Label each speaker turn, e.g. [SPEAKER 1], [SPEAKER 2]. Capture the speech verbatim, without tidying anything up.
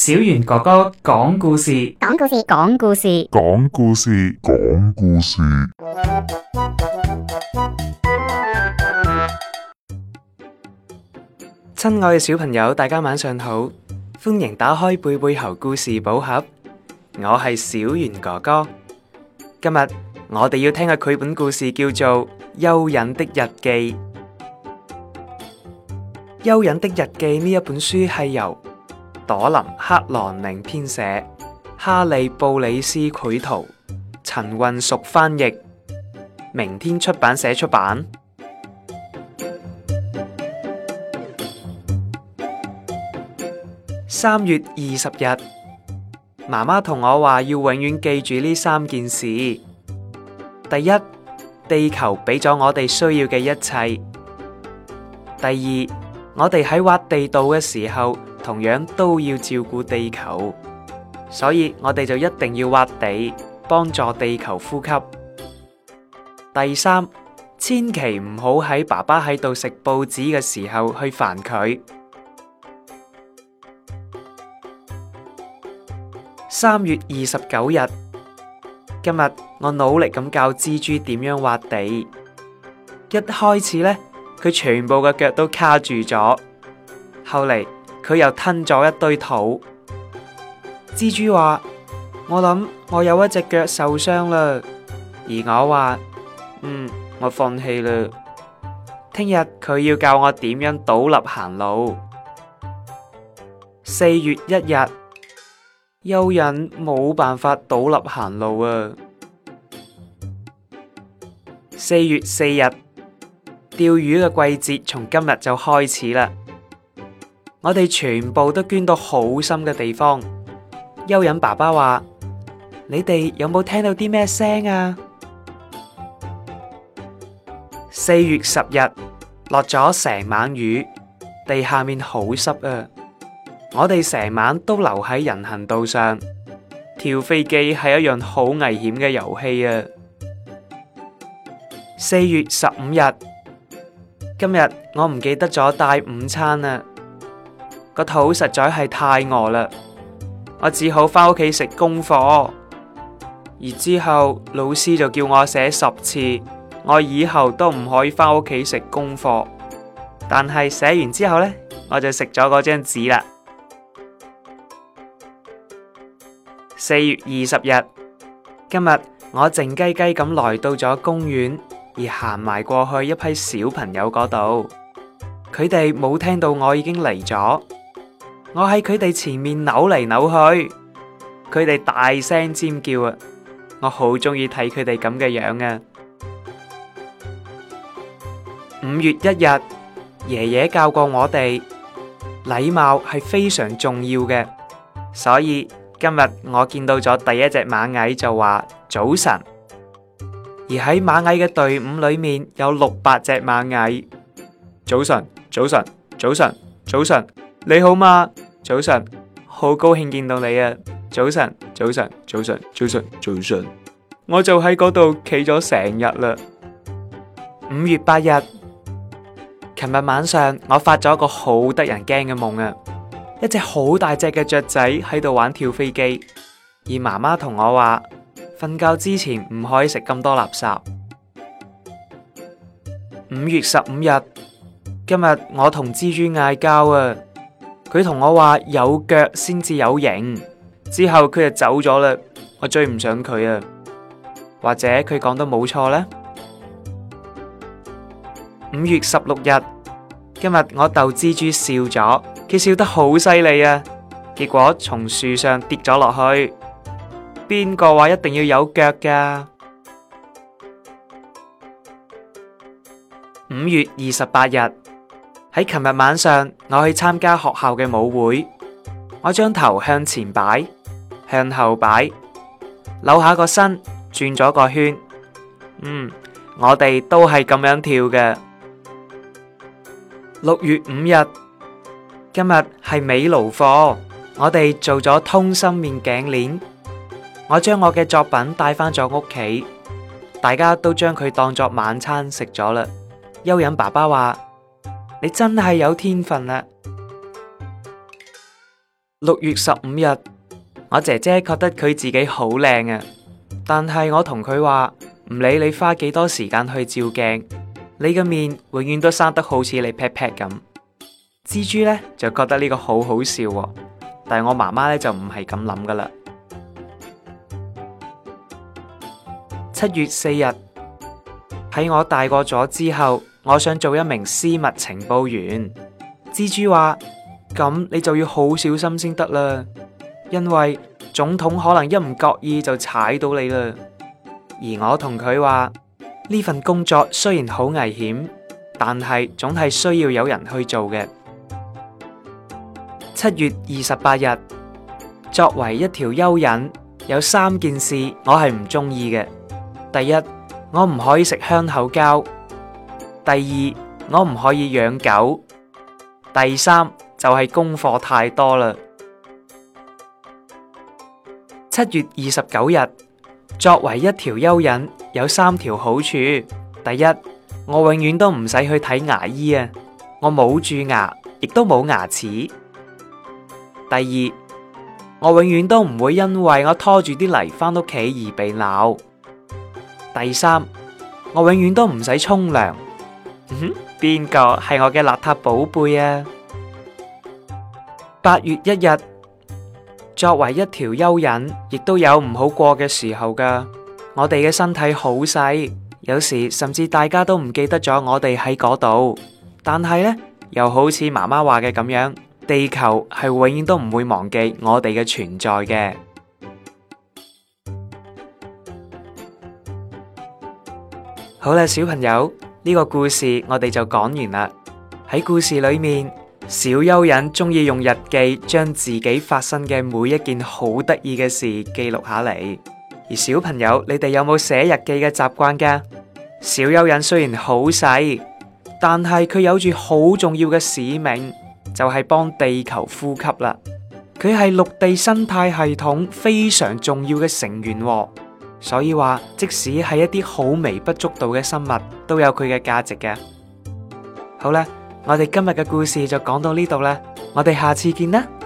[SPEAKER 1] 小袁哥哥講故事，
[SPEAKER 2] 講故事，講故事，
[SPEAKER 3] 講故事，講故事。
[SPEAKER 4] 親愛嘅小朋友，大家晚上好，歡迎打開貝貝猴故事寶盒，我係小袁哥哥。今日我哋要聽嘅繪本故事叫做《蚯蚓的日記》。《蚯蚓的日記》呢一本書係由朵琳克朗寧編寫，哈利布里斯繪圖，陳運淑翻譯，明天出版社出版。三月二十日，媽媽同我話要永遠記住呢三件事。第一，地球俾咗我哋需要嘅一切。第二，我哋喺挖地道嘅時候，同樣都要照顧地球，所以我哋就一定要挖地，幫助地球呼吸。第三，千祈唔好喺爸爸喺度食報紙嘅時候去煩佢。三月二十九日，今日我努力咁教蜘蛛點樣挖地。一開始呢，佢全部嘅腳都卡住咗，後嚟佢又吞咗一堆土。蜘蛛話：我諗我有一隻腳受傷啦。而我話：嗯，我放棄啦。聽日佢要教我點樣倒立行路。四月一日，蚯蚓冇辦法倒立行路啊。四月四日，釣魚嘅季節從今日就開始啦。我哋全部都捐到好深嘅地方。蚯蚓爸爸話：你哋有冇聽到啲咩聲啊？四月十日，落咗成晚雨，地下面好濕啊。我哋成晚都留喺人行道上。跳飛機係一樣好危險嘅遊戲啊。四月十五日，今日我唔記得咗帶午餐啊。個肚實在係太餓啦，我只好返屋企食功課。而之後老師就叫我寫十次，我以後都唔可以返屋企食功課。但係寫完之後呢，我就食咗嗰張紙啦。四月二十日，今日我靜雞雞咁來到咗公園，而行埋過去一批小朋友嗰度，佢哋冇聽到我已經嚟咗。我喺佢哋前面扭嚟扭去，佢哋大聲尖叫啊！我好中意睇佢哋咁嘅樣啊！五月一日，爺爺教過我哋，禮貌係非常重要嘅，所以今日我見到咗第一隻螞蟻就話早晨，而喺螞蟻嘅隊伍裏面有六百隻螞蟻。早晨，早晨，早晨，早晨，你好嗎？早晨，好高興見到你啊！早晨，早晨，早晨，早晨，早晨，我就喺嗰度企咗成日啦。五月八日，琴日晚上我發咗個好得人驚嘅夢啊！一隻好大隻嘅雀仔喺度玩跳飛機，而媽媽同我話瞓覺之前唔可以食咁多垃圾。五月十五日，今日我同蜘蛛嗌交啊！佢同我話有腳先至有型，之後佢就走咗啦，我追唔上佢啊。或者佢講得冇錯呢？五月十六日，今日我逗蜘蛛笑咗，佢笑得好犀利啊，結果從樹上跌咗落去。邊個話一定要有腳㗎？五月二十八日，喺琴日晚上，我去參加學校嘅舞會。我將頭向前擺，向後擺，扭下個身，轉咗個圈。嗯，我哋都係咁樣跳嘅。六月五日，今日係美勞課，我哋做咗通心麵頸鏈。我將我嘅作品帶返咗屋企，大家都將佢當作晚餐食咗啦。蚯蚓爸爸話：你真係有天分啦！ 六月十五日，我姐姐覺得佢自己好靚啊，但係我同佢話唔理你花幾多時間去照鏡，你嘅面永遠都生得好似你 pat pat 咁。蜘蛛呢就覺得呢個好好笑喎，但係我媽媽呢就唔係咁諗噶啦。七月四日，喺我大個咗之後，我想做一名私密情報員。蜘蛛話：咁你就要好小心先得啦，因為總統可能一唔覺意就踩到你啦。而我同佢話：呢份工作雖然好危險，但係總係需要有人去做嘅。七月二十八日，作為一條蚯蚓，有三件事我係唔中意嘅。第一，我唔可以食香口膠；第二，我唔可以養狗；第三就係功課太多啦。七月二十九日，作為一條蚯蚓，有三條好處。第一，我永遠都唔使去睇牙醫啊，我冇蛀牙，亦都冇牙齒。第二，我永遠都唔會因為我拖住啲泥返屋企而被鬧。第三，我永遠都唔使沖涼。嗯哼，邊個係我嘅邋遢寶貝啊？八月一日，作為一條蚯蚓，亦都有唔好過嘅時候噶。我哋嘅身體好細，有時甚至大家都唔記得咗我哋喺嗰度。但係呢，又好似媽媽話嘅咁樣，地球係永遠都唔會忘記我哋嘅存在嘅。好啦，小朋友，呢個故事我哋就講完啦。喺故事裏面，小蚯蚓中意用日記將自己發生嘅每一件好得意嘅事記錄下嚟。而小朋友，你哋有冇寫日記嘅習慣噶？小蚯蚓雖然好細，但係佢有住好重要嘅使命，就係幫地球呼吸啦。佢係陸地生態系統非常重要嘅成員喎。所以話，即使係一啲好微不足道嘅生物，都有佢嘅價值嘅。好啦，我哋今日嘅故事就講到呢度啦，我哋下次見啦。